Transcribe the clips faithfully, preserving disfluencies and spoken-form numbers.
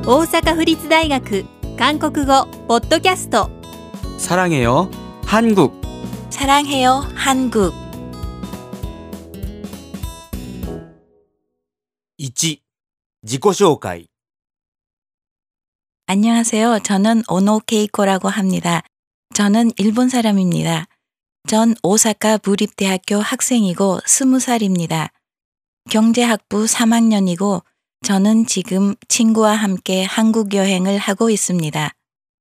大阪府立大学韓国語ポッドキャスト 사랑해요 한국 사랑해요 한국 いち. 지구쇼kai 안녕하세요. 저는 오노 케이코라고 합니다. 저는 일본 사람입니다. 전 오사카 부립대학교 학생이고 스무 살입니다. 경제학부 삼 학년이고 저는 지금 친구와 함께 한국 여행을 하고 있습니다.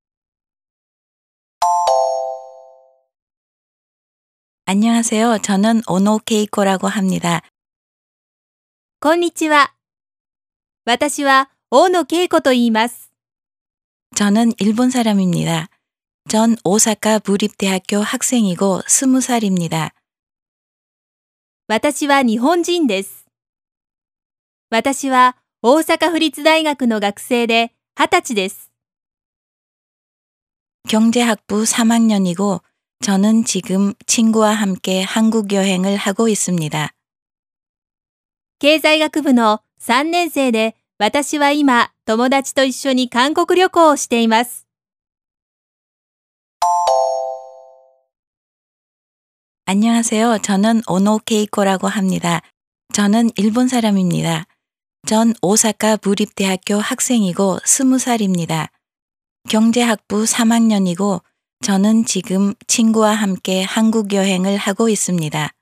안녕하세요. 저는 오노 케이코라고 합니다. こんにちは。私は大野恵子と言います。 저는 일본 사람입니다. 전 오사카 부립대학교 학생이고 스무 살입니다. 私は日本人です。私は大阪府立大学の学生ではたちです。 경제학부 삼 학년이고 저는 지금 친구와 함께 한국 여행을 하고 있습니다. 経済学部のさんねん生で私は今友達と一緒に韓国旅行をしています。 안녕하세요. 저는 오노 케이코라고 합니다. 저는 일본 사람입니다. 전 오사카 부립대학교 학생이고 스무 살입니다. 경제학부 삼 학년이고 저는 지금 친구와 함께 한국 여행을 하고 있습니다.